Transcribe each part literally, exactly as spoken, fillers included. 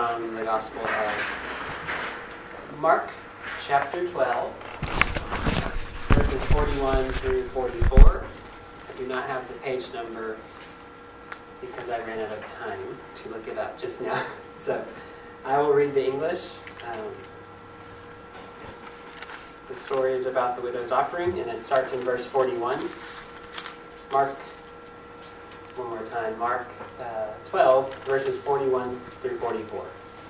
from the Gospel of Mark, chapter twelve, verses forty-one through forty-four. I do not have the page number because I ran out of time to look it up just now. So I will read the English. Um, the story is about the widow's offering, and it starts in verse forty-one. Mark, one more time, Mark uh, twelve, verses forty-one through forty-four.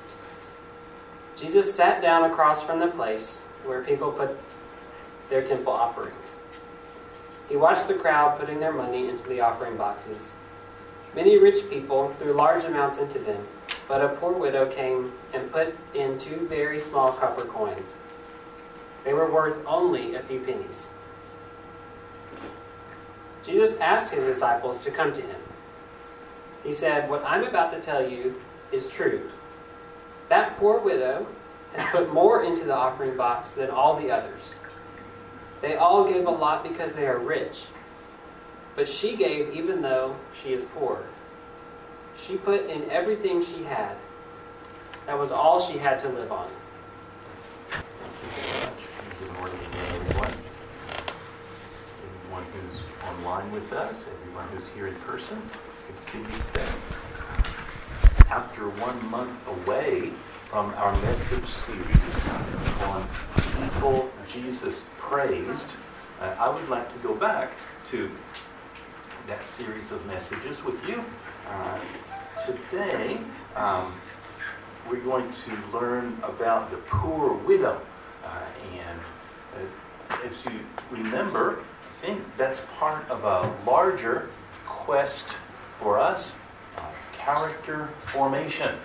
Jesus sat down across from the place where people put their temple offerings. He watched the crowd putting their money into the offering boxes. Many rich people threw large amounts into them, but a poor widow came and put in two very small copper coins. They were worth only a few pennies. Jesus asked his disciples to come to him. He said, "What I'm about to tell you is true. That poor widow has put more into the offering box than all the others. They all gave a lot because they are rich, but she gave even though she is poor. She put in everything she had. That was all she had to live on." Thank you very much. Good morning again, everyone. Everyone who's online with us, everyone who's here in person. Good to see you today. After one month away from our message series on people Jesus praised, uh, I would like to go back to that series of messages with you. Uh, today, um, we're going to learn about the poor widow. Uh, and uh, as you remember, I think that's part of a larger quest for us, uh, character formation.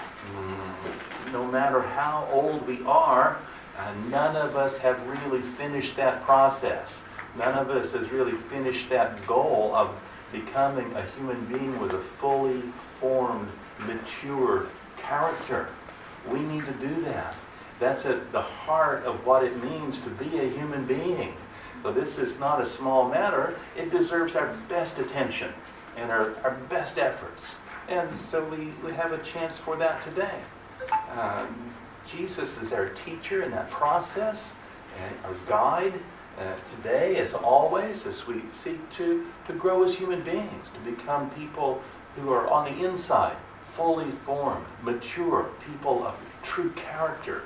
Mm, no matter how old we are, uh, none of us have really finished that process. None of us has really finished that goal of becoming a human being with a fully formed, mature character. We need to do that. That's at the heart of what it means to be a human being. So this is not a small matter. It deserves our best attention and our, our best efforts. And so we, we have a chance for that today. Um, Jesus is our teacher in that process and our guide uh, today, as always, as we seek to, to grow as human beings, to become people who are on the inside, fully formed, mature, people of true character.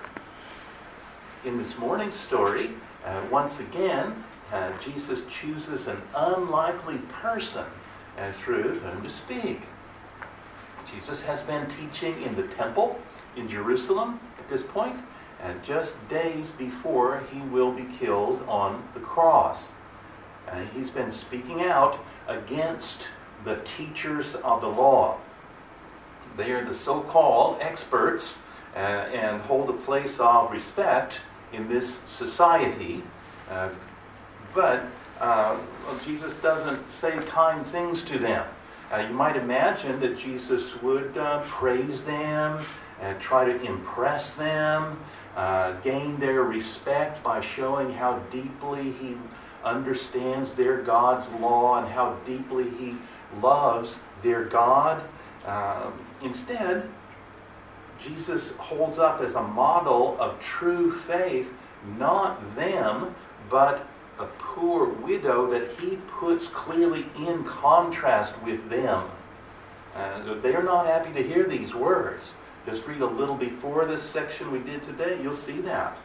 In this morning's story, uh, once again, uh, Jesus chooses an unlikely person uh, through whom to speak. Jesus has been teaching in the temple in Jerusalem at this point, and just days before he will be killed on the cross. Uh, he's been speaking out against the teachers of the law. They are the so-called experts uh, and hold a place of respect in this society. Uh, but uh, well, Jesus doesn't say kind things to them. Uh, you might imagine that Jesus would uh, praise them, and try to impress them, uh, gain their respect by showing how deeply he understands their God's law and how deeply he loves their God. Uh, instead, Jesus holds up as a model of true faith, not them, but a poor widow that he puts clearly in contrast with them. Uh, they are not happy to hear these words. Just read a little before this section we did today, you'll see that.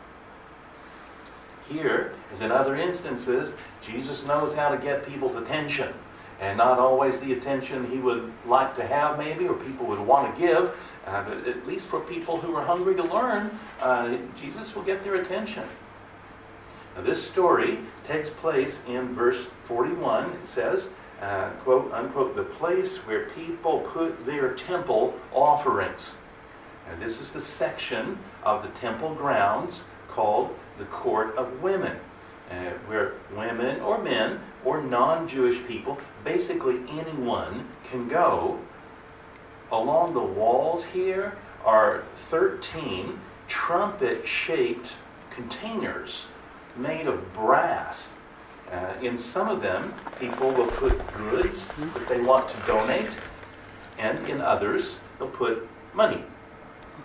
Here, as in other instances, Jesus knows how to get people's attention. And not always the attention he would like to have, maybe, or people would want to give. Uh, but at least for people who are hungry to learn, uh, Jesus will get their attention. Now, this story takes place in verse forty-one. It says, uh, quote, unquote, the place where people put their temple offerings. And this is the section of the temple grounds called the Court of Women, uh, where women or men or non-Jewish people, basically anyone, can go. Along the walls here are thirteen trumpet-shaped containers made of brass. Uh, in some of them, people will put goods that they want to donate, and in others, they'll put money.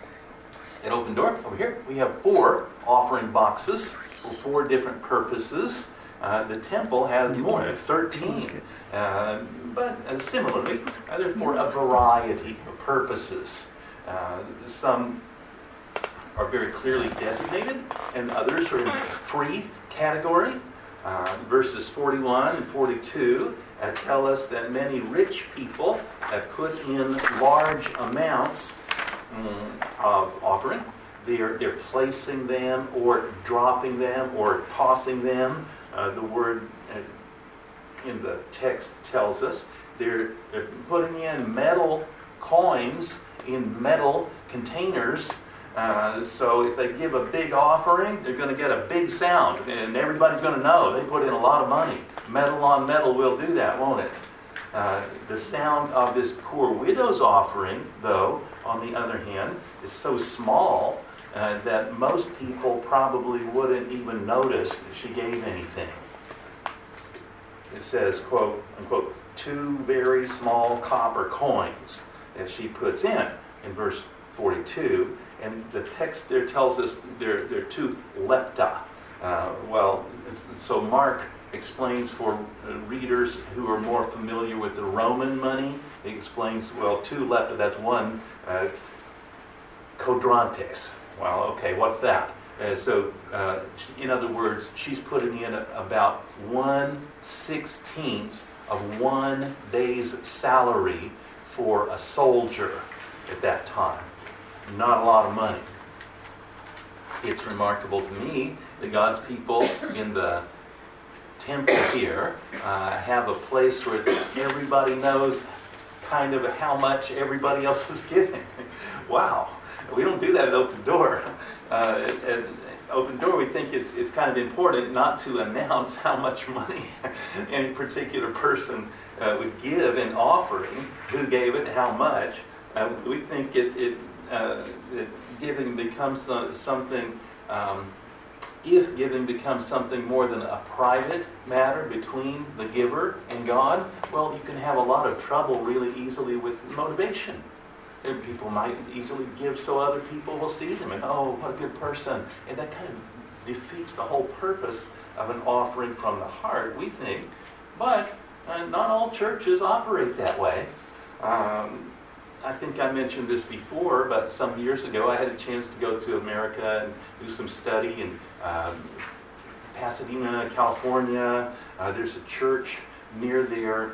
At Open Door, over here, we have four offering boxes for four different purposes. Uh, the temple has more, thirteen. Uh, but uh, similarly, uh, they're for a variety of purposes. Uh, some are very clearly designated, and others are in the free category. Uh, verses forty-one and forty-two uh, tell us that many rich people have put in large amounts um, of offering. They're, they're placing them or dropping them or tossing them. Uh, the word uh, in the text tells us they're, they're putting in metal coins in metal containers. Uh, so if they give a big offering, they're going to get a big sound, and everybody's going to know they put in a lot of money. Metal on metal will do that, won't it? Uh, the sound of this poor widow's offering, though, on the other hand, is so small uh, that most people probably wouldn't even notice that she gave anything. It says, quote, unquote, two very small copper coins that she puts in, in verse forty-two. And the text there tells us they're, they're two lepta. Uh, well, so Mark explains for readers who are more familiar with the Roman money, he explains, well, two lepta, that's one uh, quadrantes. Well, okay, what's that? Uh, so, uh, in other words, she's putting in a, about one sixteenth of one day's salary for a soldier at that time. Not a lot of money. It's remarkable to me that God's people in the temple here uh, have a place where everybody knows kind of how much everybody else is giving. Wow. We don't do that at Open Door. Uh, at Open Door, we think it's it's kind of important not to announce how much money any particular person uh, would give in offering, who gave it, how much. Uh, we think it, it Uh, that giving becomes uh, something, um, if giving becomes something more than a private matter between the giver and God, well, you can have a lot of trouble really easily with motivation. And people might easily give so other people will see them and, oh, what a good person. And that kind of defeats the whole purpose of an offering from the heart, we think. But uh, not all churches operate that way. Um, I think I mentioned this before, but some years ago I had a chance to go to America and do some study in um, Pasadena, California. Uh, there's a church near there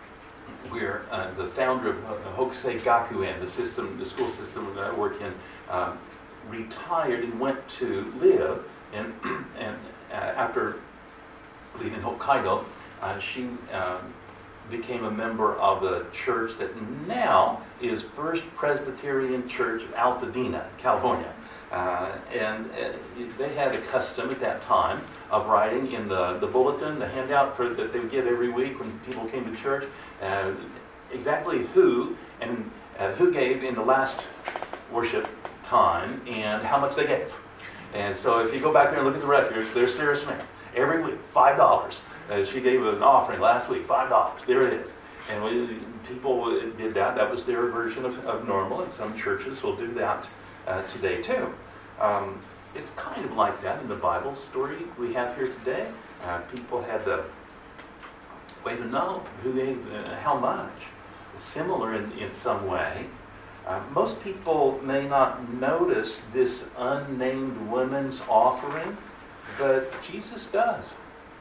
where uh, the founder of Hokusei Gakuen, the system, the school system that I work in, um, retired and went to live. And, and uh, after leaving Hokkaido, uh, she um, became a member of a church that now is First Presbyterian Church of Altadena, California. Uh, and uh, they had a custom at that time of writing in the, the bulletin, the handout for, that they would give every week when people came to church, uh, exactly who and uh, who gave in the last worship time and how much they gave. And so if you go back there and look at the records, there's Sarah Smith. Every week, five dollars. Uh, she gave an offering last week, five dollars. There it is. And we, people did that. That was their version of, of normal, and some churches will do that uh, today too. Um, it's kind of like that in the Bible story we have here today. Uh, people had the way to know who gave uh, how much. Similar in, in some way. Uh, most people may not notice this unnamed woman's offering, but Jesus does.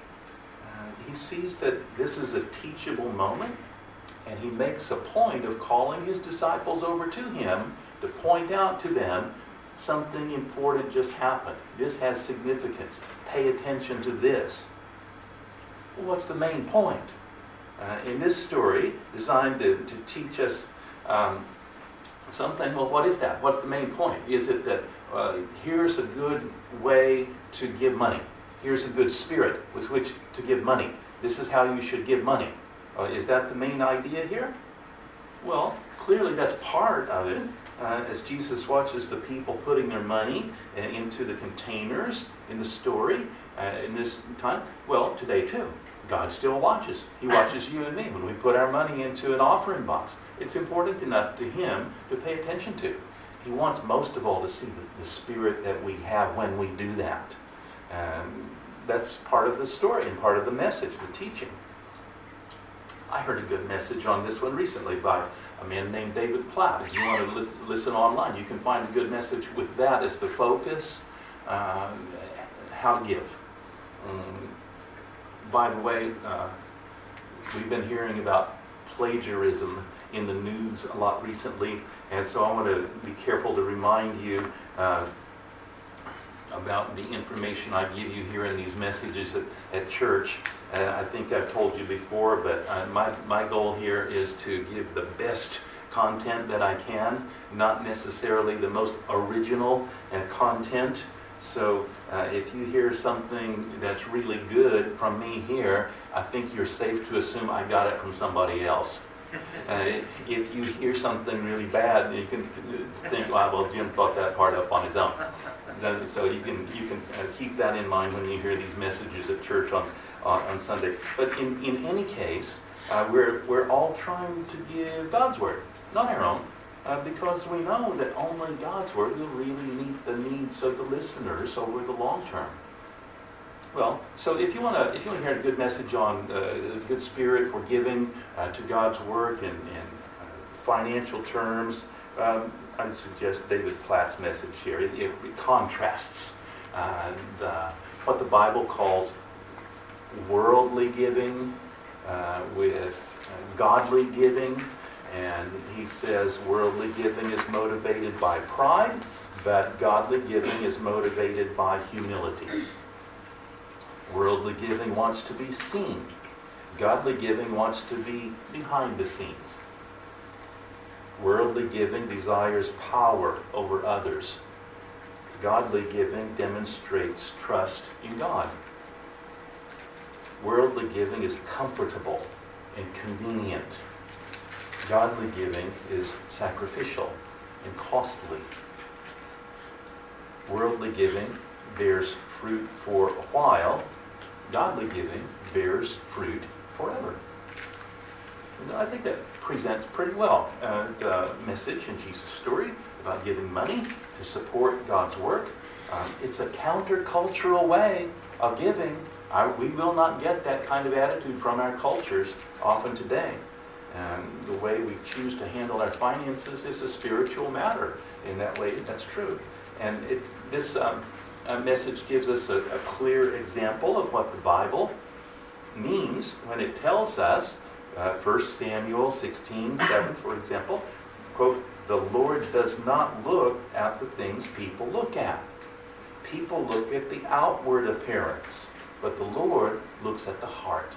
He sees that this is a teachable moment, and he makes a point of calling his disciples over to him to point out to them something important just happened. This has significance. Pay attention to this. Well, what's the main point? Uh, in this story, designed to, to teach us um, something, well, what is that? What's the main point? Is it that uh, here's a good way to give money? Here's a good spirit with which to give money. This is how you should give money. Uh, is that the main idea here? Well, clearly that's part of it. Uh, as Jesus watches the people putting their money uh, into the containers in the story uh, in this time, well, today too. God still watches. He watches you and me when we put our money into an offering box. It's important enough to him to pay attention to. He wants most of all to see the, the spirit that we have when we do that. And that's part of the story and part of the message, the teaching. I heard a good message on this one recently by a man named David Platt. If you want to li- listen online, you can find a good message with that as the focus, uh, how to give. Um, by the way, uh, we've been hearing about plagiarism in the news a lot recently, and so I want to be careful to remind you uh, about the information I give you here in these messages at, at church. Uh, I think I've told you before, but uh, my, my goal here is to give the best content that I can, not necessarily the most original uh, content. So uh, if you hear something that's really good from me here, I think you're safe to assume I got it from somebody else. Uh, if you hear something really bad, you can think, oh, well, Jim thought that part up on his own. Then, so you can you can uh, keep that in mind when you hear these messages at church on on, on Sunday. But in, in any case, uh, we're we're all trying to give God's word, not our own, uh, because we know that only God's word will really meet the needs of the listeners over the long term. Well, so if you want to, if you want to hear a good message on uh, good spirit for giving uh, to God's work in, in uh, financial terms, um, I would suggest David Platt's message here. It, it, it contrasts uh, the, what the Bible calls worldly giving uh, with uh, godly giving, and he says worldly giving is motivated by pride, but godly giving is motivated by humility. Worldly giving wants to be seen. Godly giving wants to be behind the scenes. Worldly giving desires power over others. Godly giving demonstrates trust in God. Worldly giving is comfortable and convenient. Godly giving is sacrificial and costly. Worldly giving bears fruit for a while. Godly giving bears fruit forever. And I think that presents pretty well uh, the message in Jesus' story about giving money to support God's work. Um, it's a countercultural way of giving. I, we will not get that kind of attitude from our cultures often today. And the way we choose to handle our finances is a spiritual matter. In that way, that's true. And it, this um, uh, message gives us a, a clear example of what the Bible means when it tells us, uh, First Samuel sixteen seven, for example, quote, "The Lord does not look at the things people look at. People look at the outward appearance, but the Lord looks at the heart."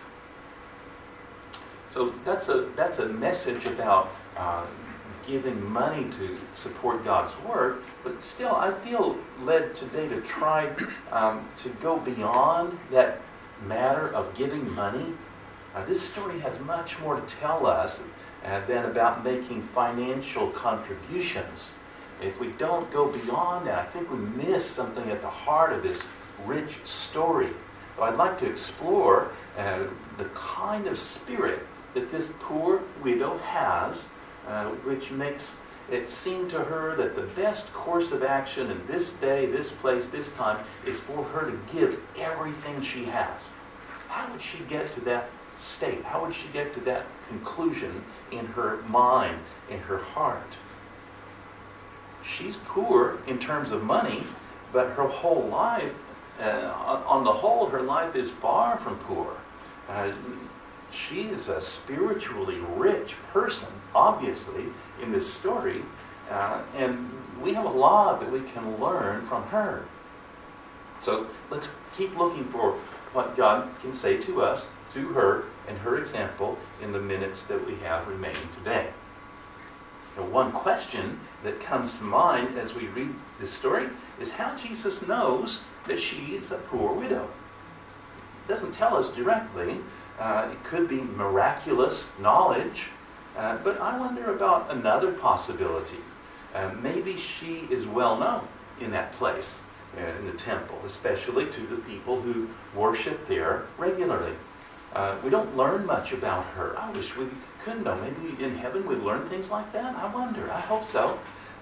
So that's a that's a message about uh, giving money to support God's work, but still I feel led today to try um, to go beyond that matter of giving money. Uh, this story has much more to tell us uh, than about making financial contributions. If we don't go beyond that, I think we miss something at the heart of this rich story. So I'd like to explore uh, the kind of spirit that this poor widow has, uh, which makes it seem to her that the best course of action in this day, this place, this time, is for her to give everything she has. How would she get to that state? How would she get to that conclusion in her mind, in her heart? She's poor in terms of money, but her whole life, uh, on the whole, her life is far from poor. Uh, She is a spiritually rich person, obviously, in this story. Uh, and we have a lot that we can learn from her. So let's keep looking for what God can say to us through her and her example in the minutes that we have remaining today. Now, one question that comes to mind as we read this story is how Jesus knows that she is a poor widow. It doesn't tell us directly. Uh, it could be miraculous knowledge, uh, but I wonder about another possibility. Uh, maybe she is well known in that place, uh, in the temple, especially to the people who worship there regularly. Uh, we don't learn much about her. I wish we could know. Maybe in heaven we learn things like that. I wonder. I hope so.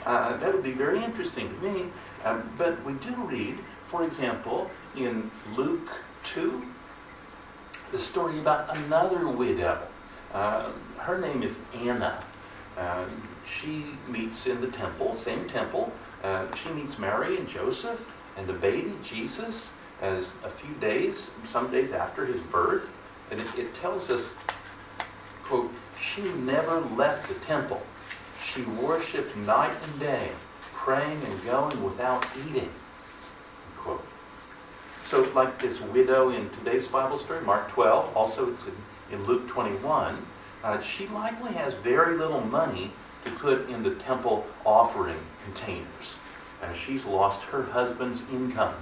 Uh, that would be very interesting to me. Um, but we do read, for example, in Luke two, the story about another widow. Uh, her name is Anna. Uh, she meets in the temple, same temple. Uh, she meets Mary and Joseph and the baby Jesus as a few days, some days after his birth. And it, it tells us, quote, she never left the temple. She worshipped night and day, praying and going without eating. Quote. So like this widow in today's Bible story, Mark twelve, also it's in, in Luke twenty-one, uh, she likely has very little money to put in the temple offering containers. Uh, she's lost her husband's income.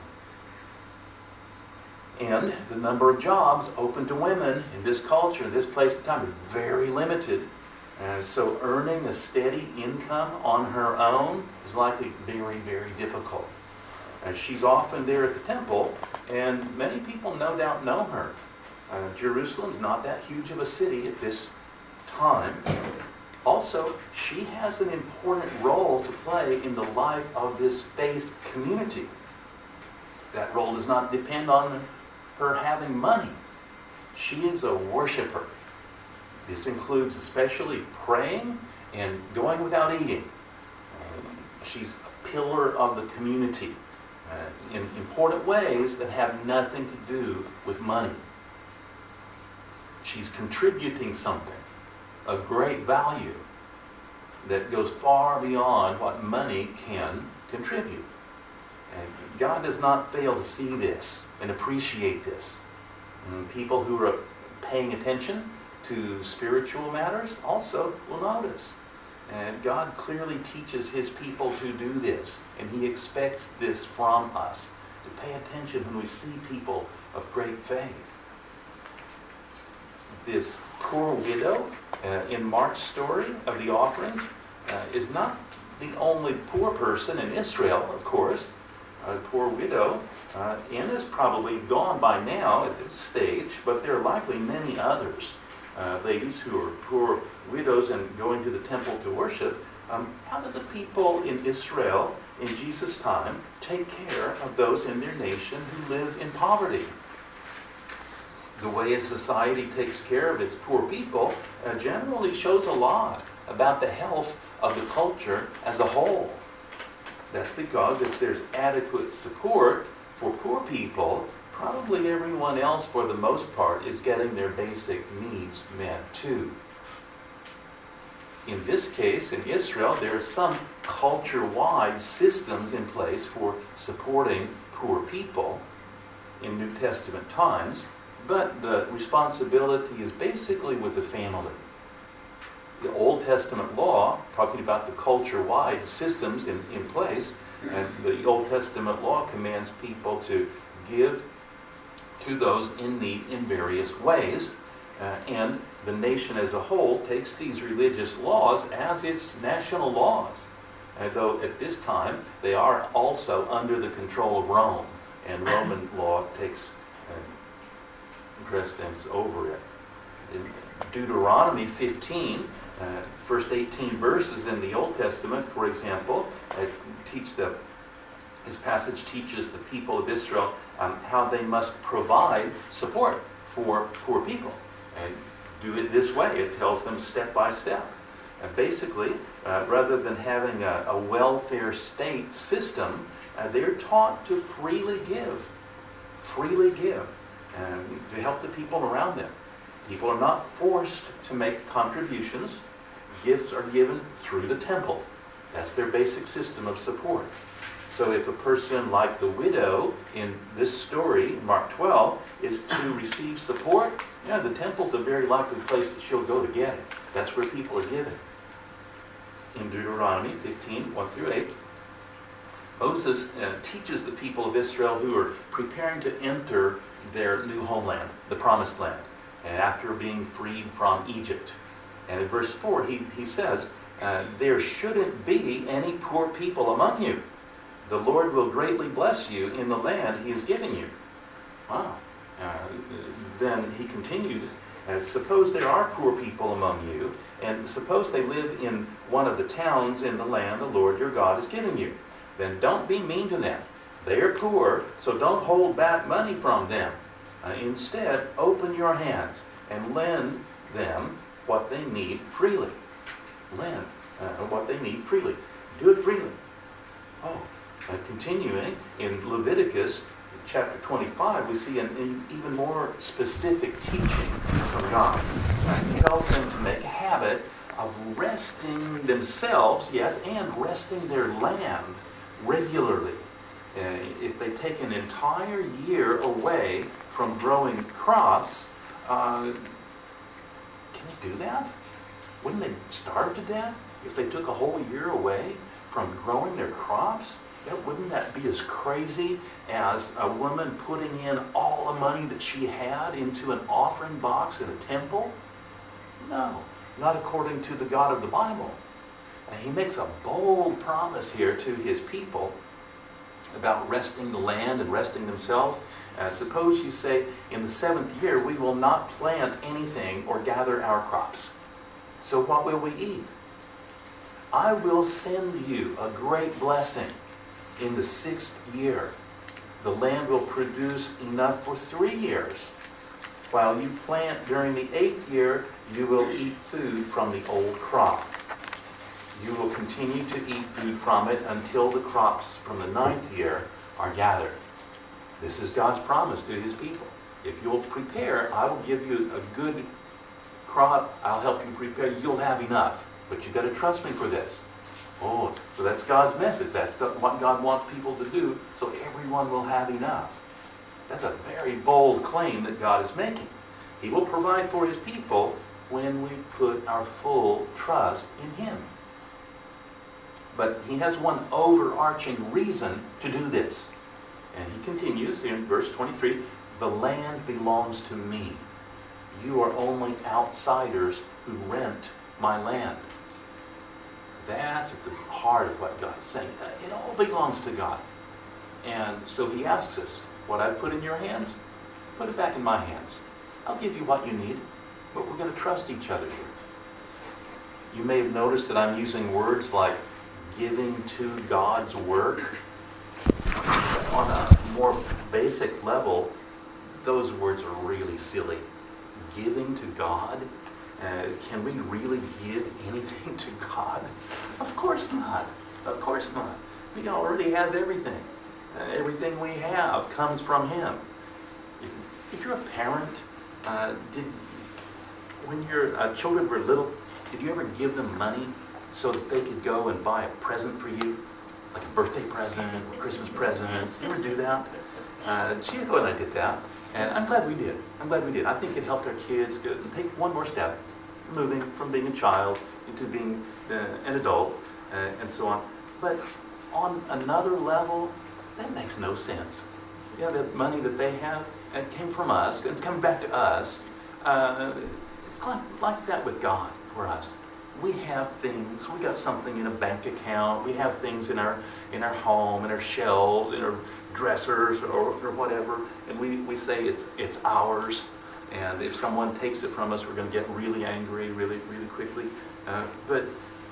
And the number of jobs open to women in this culture, in this place and time, is very limited. Uh, so earning a steady income on her own is likely very, very difficult. Uh, she's often there at the temple, and many people no doubt know her. Uh, Jerusalem's not that huge of a city at this time. Also, she has an important role to play in the life of this faith community. That role does not depend on her having money. She is a worshiper. This includes especially praying and going without eating. Uh, she's a pillar of the community uh, in important ways that have nothing to do with money. She's contributing something, a great value that goes far beyond what money can contribute. And God does not fail to see this and appreciate this. And people who are paying attention to spiritual matters also will notice. And God clearly teaches his people to do this, and he expects this from us, to pay attention when we see people of great faith. This poor widow uh, in Mark's story of the offerings uh, is not the only poor person in Israel, of course. A poor widow. Uh, Anna's probably gone by now at this stage, but there are likely many others. Uh, ladies who are poor widows and going to the temple to worship. Um, how did the people in Israel in Jesus' time take care of those in their nation who lived in poverty? The way a society takes care of its poor people uh, generally shows a lot about the health of the culture as a whole. That's because if there's adequate support for poor people, probably everyone else, for the most part, is getting their basic needs met too. In this case, in Israel, there are some culture-wide systems in place for supporting poor people in New Testament times, but the responsibility is basically with the family. The Old Testament law, talking about the culture-wide systems in, in place, and the Old Testament law commands people to give to those in need in various ways. Uh, and the nation as a whole takes these religious laws as its national laws. Uh, though at this time, they are also under the control of Rome, and Roman law takes uh, precedence over it. In Deuteronomy fifteen, uh, first eighteen verses in the Old Testament, for example, uh, teach the, this passage teaches the people of Israel um, how they must provide support for poor people. And do it this way. It tells them step by step. And basically, uh, rather than having a, a welfare state system, uh, they're taught to freely give. Freely give. And to help the people around them. People are not forced to make contributions. Gifts are given through the temple. That's their basic system of support. So if a person like the widow in this story, Mark twelve, is to receive support, yeah, the temple's a very likely place that she'll go to get it. That's where people are giving. In Deuteronomy fifteen, one through eight, Moses uh, teaches the people of Israel who are preparing to enter their new homeland, the Promised Land, and after being freed from Egypt. And in verse four, he, he says, uh, there shouldn't be any poor people among you. The Lord will greatly bless you in the land he is giving you. Wow. Uh, then he continues Uh, suppose there are poor people among you, and suppose they live in one of the towns in the land the Lord your God is giving you. Then don't be mean to them. They are poor, so don't hold back money from them. Uh, instead, open your hands and lend them what they need freely. Lend uh, what they need freely. Do it freely. Oh, uh, continuing in Leviticus chapter twenty-five, we see an, an even more specific teaching from God. Uh, he tells them to make a habit of resting themselves, yes, and resting their land regularly. Uh, if they take an entire year away from growing crops, uh, can they do that? Wouldn't they starve to death if they took a whole year away from growing their crops? That, wouldn't that be as crazy as a woman putting in all the money that she had into an offering box in a temple? No, not according to the God of the Bible. And he makes a bold promise here to his people about resting the land and resting themselves. Uh, suppose you say, in the seventh year, we will not plant anything or gather our crops. So what will we eat? I will send you a great blessing. In the sixth year, the land will produce enough for three years. While you plant during the eighth year, you will eat food from the old crop. You will continue to eat food from it until the crops from the ninth year are gathered. This is God's promise to his people. If you'll prepare, I will give you a good crop. I'll help you prepare. You'll have enough. But you've got to trust me for this. Oh, so that's God's message. That's what God wants people to do, so everyone will have enough. That's a very bold claim that God is making. He will provide for his people when we put our full trust in him. But he has one overarching reason to do this. And he continues in verse twenty-three, the land belongs to me. You are only outsiders who rent my land. That's at the heart of what God is saying. It all belongs to God. And so he asks us, what I put in your hands, put it back in my hands. I'll give you what you need, but we're going to trust each other here. You may have noticed that I'm using words like giving to God's work. On a more basic level, those words are really silly. Giving to God? Uh, can we really give anything to God? Of course not. Of course not. He already has everything. Uh, everything we have comes from him. If, if you're a parent, uh, did when your uh, children were little, did you ever give them money so that they could go and buy a present for you? Like a birthday present, or Christmas present? You ever do that? Uh, Chico and I did that. And I'm glad we did. I'm glad we did. I think it helped our kids go and take one more step, moving from being a child into being uh, an adult, uh, and so on. But on another level, that makes no sense. Yeah, the money that they have, it came from us, and it's coming back to us. Uh, it's like, like that with God for us. We have things. We got something in a bank account. We have things in our in our home, in our shelves, in our dressers, or, or whatever, and we, we say it's it's ours. And if someone takes it from us, we're going to get really angry, really really quickly. Uh, but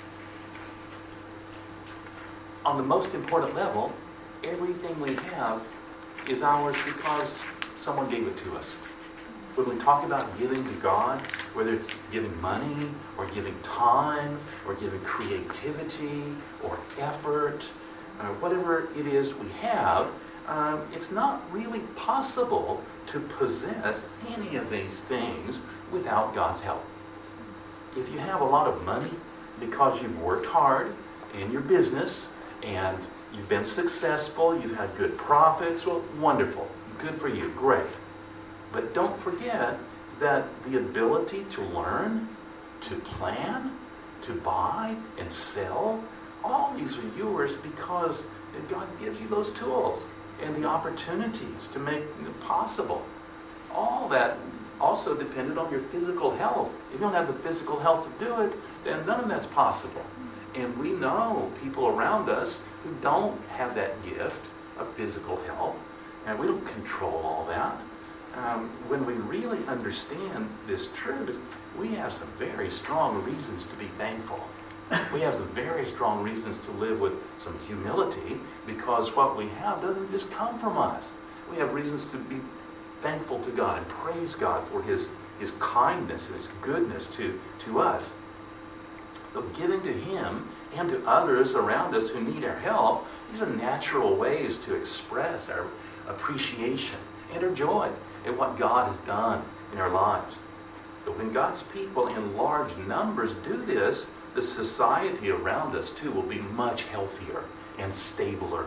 on the most important level, everything we have is ours because someone gave it to us. When we talk about giving to God, whether it's giving money, or giving time, or giving creativity, or effort, uh, whatever it is we have, um, it's not really possible to possess any of these things without God's help. If you have a lot of money because you've worked hard in your business, and you've been successful, you've had good profits, well, wonderful. Good for you. Great. But don't forget that the ability to learn, to plan, to buy and sell, all these are yours because God gives you those tools and the opportunities to make it possible. All that also depended on your physical health. If you don't have the physical health to do it, then none of that's possible. And we know people around us who don't have that gift of physical health, and we don't control all that. um, when we really understand this truth, we have some very strong reasons to be thankful. We have some very strong reasons to live with some humility, because what we have doesn't just come from us. We have reasons to be thankful to God and praise God for His, His kindness and His goodness to, to us. But giving to Him and to others around us who need our help, these are natural ways to express our appreciation and our joy at what God has done in our lives. But when God's people in large numbers do this, the society around us too will be much healthier and stabler.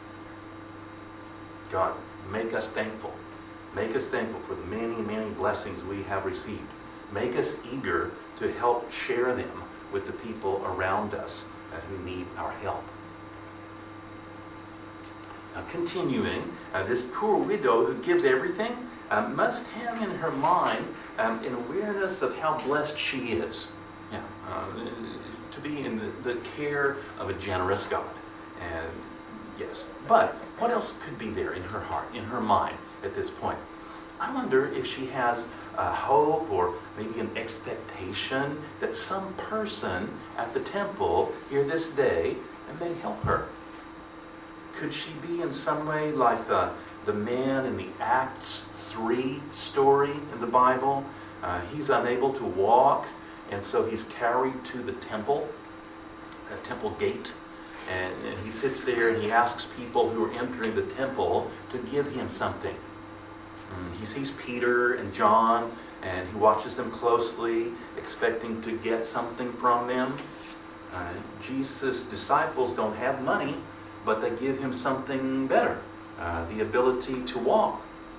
God, make us thankful. Make us thankful for the many, many blessings we have received. Make us eager to help share them with the people around us uh, who need our help. Now, continuing, uh, this poor widow who gives everything uh, must have in her mind um, an awareness of how blessed she is. Yeah, uh, to be in the, the care of a generous God. And yes, but what else could be there in her heart, in her mind at this point? I wonder if she has a hope or maybe an expectation that some person at the temple here this day may help her. Could she be in some way like the, the man in the Acts three story in the Bible? Uh, he's unable to walk, and so he's carried to the temple, the temple gate, and, and he sits there and he asks people who are entering the temple to give him something. And he sees Peter and John, and he watches them closely, expecting to get something from them. Uh, Jesus' disciples don't have money, but they give him something better, uh, the ability to walk.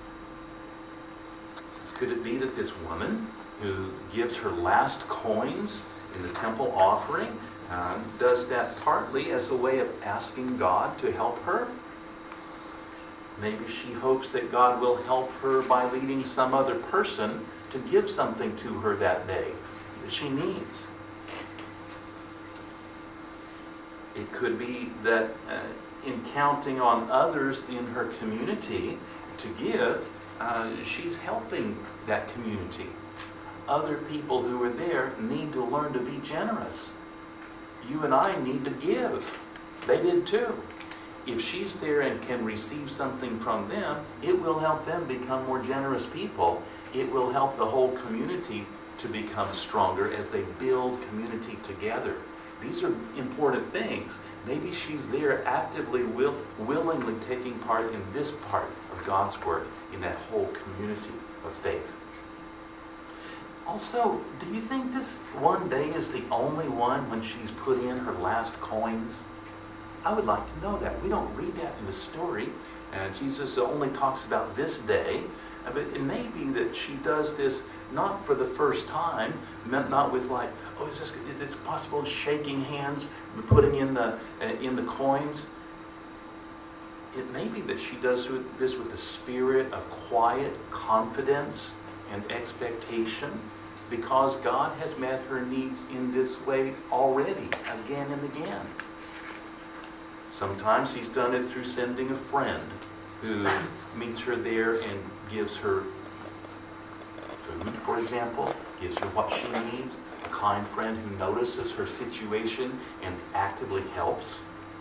Could it be that this woman who gives her last coins in the temple offering uh, does that partly as a way of asking God to help her? Maybe she hopes that God will help her by leading some other person to give something to her that day that she needs. It could be that uh, in counting on others in her community to give, uh, she's helping that community. Other people who are there need to learn to be generous. You and I need to give. They did too. If she's there and can receive something from them, it will help them become more generous people. It will help the whole community to become stronger as they build community together. These are important things. Maybe she's there actively, will, willingly taking part in this part of God's work in that whole community of faith. Also, do you think this one day is the only one when she's put in her last coins? I would like to know that. We don't read that in the story. Uh, Jesus only talks about this day. Uh, but it may be that she does this not for the first time, not with like, oh, is this is it possible? Shaking hands, putting in the uh, in the coins. It may be that she does this with a spirit of quiet confidence and expectation, because God has met her needs in this way already, again and again. Sometimes He's done it through sending a friend who meets her there and gives her food, for example, gives her what she needs, a kind friend who notices her situation and actively helps.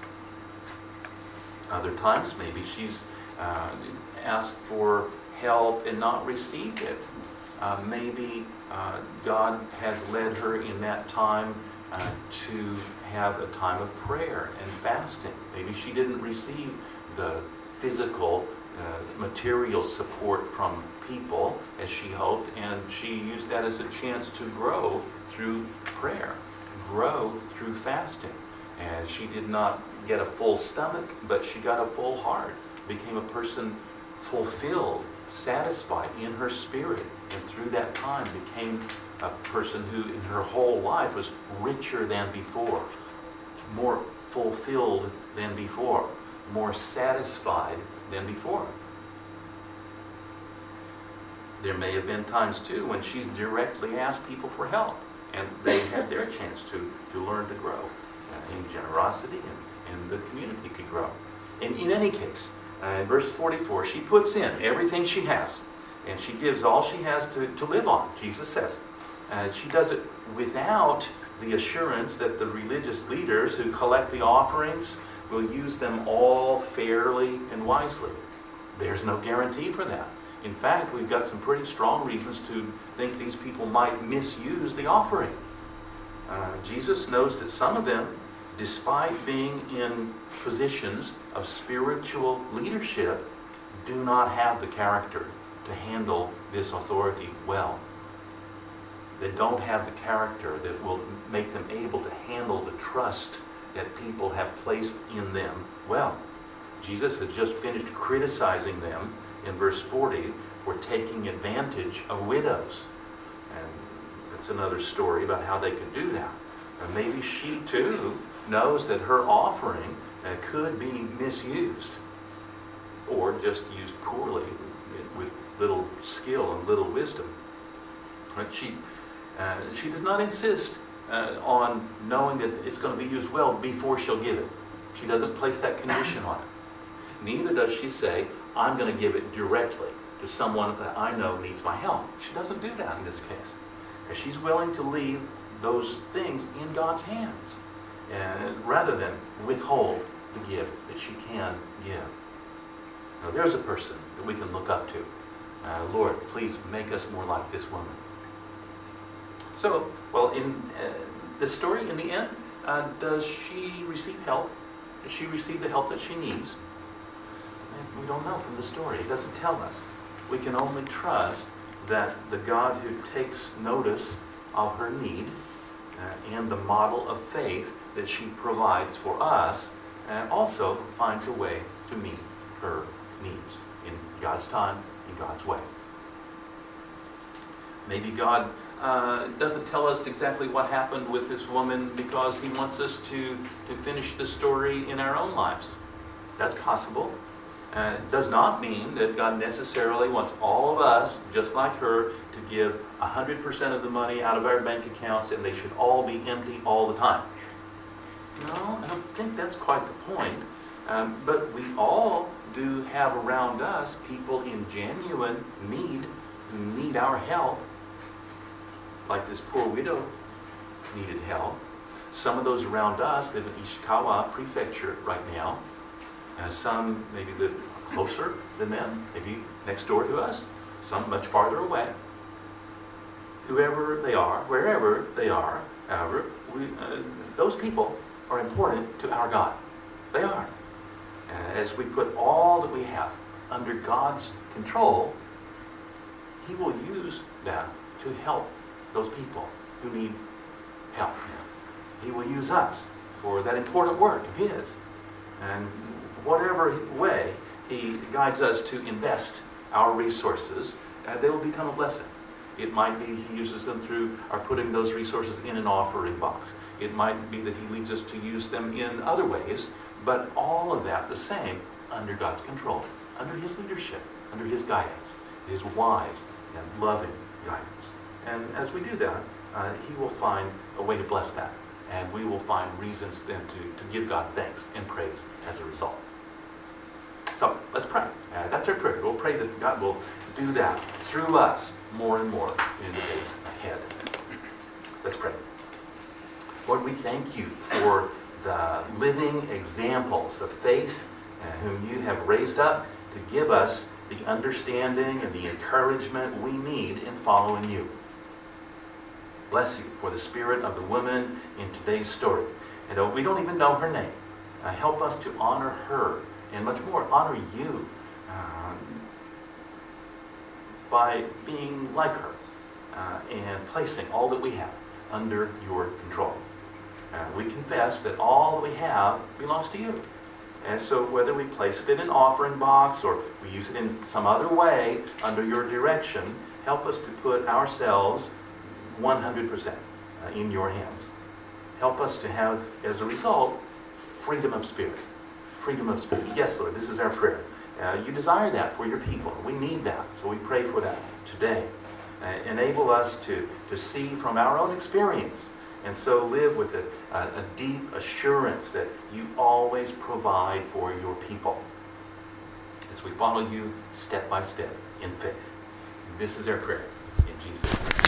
Other times, maybe she's uh, asked for help and not received it. Uh, maybe uh, God has led her in that time uh, to have a time of prayer and fasting. Maybe she didn't receive the physical, uh, material support from people as she hoped, and she used that as a chance to grow through prayer, grow through fasting. And she did not get a full stomach, but she got a full heart, became a person fulfilled, satisfied in her spirit, and through that time became a person who in her whole life was richer than before, more fulfilled than before, more satisfied than before. There may have been times too when she's directly asked people for help, and they had their chance to, to learn to grow uh, in generosity, and, and the community could grow. And in any case, uh, in verse forty-four, she puts in everything she has. And she gives all she has to, to live on, Jesus says. Uh, she does it without the assurance that the religious leaders who collect the offerings will use them all fairly and wisely. There's no guarantee for that. In fact, we've got some pretty strong reasons to think these people might misuse the offering. Uh, Jesus knows that some of them, despite being in positions of spiritual leadership, do not have the character to handle this authority well. They don't have the character that will make them able to handle the trust that people have placed in them well. Jesus had just finished criticizing them in verse forty for taking advantage of widows. And that's another story about how they could do that. And maybe she too knows that her offering uh, could be misused or just used poorly with little skill and little wisdom. But she, uh, she does not insist uh, on knowing that it's going to be used well before she'll give it. She doesn't place that condition on it. Neither does she say, I'm going to give it directly to someone that I know needs my help. She doesn't do that in this case. And she's willing to leave those things in God's hands, and rather than withhold the gift that she can give. Now there's a person that we can look up to. Uh, Lord, please make us more like this woman. So, well, in uh, the story, in the end, uh, does she receive help? Does she receive the help that she needs? And we don't know from the story. It doesn't tell us. We can only trust that the God who takes notice of her need uh, and the model of faith that she provides for us uh, also finds a way to meet her needs in God's time, in God's way. Maybe God uh, doesn't tell us exactly what happened with this woman because he wants us to, to finish the story in our own lives. That's possible. Uh, it does not mean that God necessarily wants all of us, just like her, to give one hundred percent of the money out of our bank accounts and they should all be empty all the time. No, I don't think that's quite the point. Um, but we all do have around us people in genuine need, who need our help. Like this poor widow needed help. Some of those around us live in Ishikawa Prefecture right now. Uh, some maybe live closer than them, maybe next door to us. Some much farther away. Whoever they are, wherever they are, however, we, uh, those people are important to our God. They are. Uh, as we put all that we have under God's control, he will use that to help those people who need help. He will use us for that important work of his. And whatever way he guides us to invest our resources, uh, they will become a blessing. It might be he uses them through our putting those resources in an offering box. It might be that he leads us to use them in other ways, but all of that the same under God's control, under his leadership, under his guidance, his wise and loving guidance. And as we do that, uh, he will find a way to bless that. And we will find reasons then to, to give God thanks and praise as a result. So let's pray. Uh, that's our prayer. We'll pray that God will do that through us more and more in the days ahead. Let's pray. Lord, we thank you for the living examples of faith uh, whom you have raised up to give us the understanding and the encouragement we need in following you. Bless you for the spirit of the woman in today's story. And uh, we don't even know her name. Uh, help us to honor her and much more honor you uh, by being like her uh, and placing all that we have under your control. Uh, we confess that all that we have belongs to you. And so whether we place it in an offering box or we use it in some other way under your direction, help us to put ourselves one hundred percent in your hands. Help us to have, as a result, freedom of spirit. Freedom of spirit. Yes, Lord, this is our prayer. Uh, you desire that for your people. We need that, so we pray for that today. Uh, enable us to, to see from our own experience and so live with a, a, a deep assurance that you always provide for your people as we follow you step by step in faith. This is our prayer in Jesus' name.